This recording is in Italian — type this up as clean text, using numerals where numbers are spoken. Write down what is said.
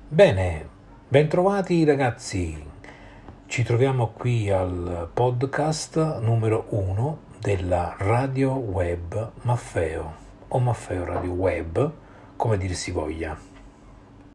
Bene, bentrovati ragazzi, ci troviamo qui al podcast numero 1 della Radio Web Maffeo o Maffeo Radio Web, come dir si voglia.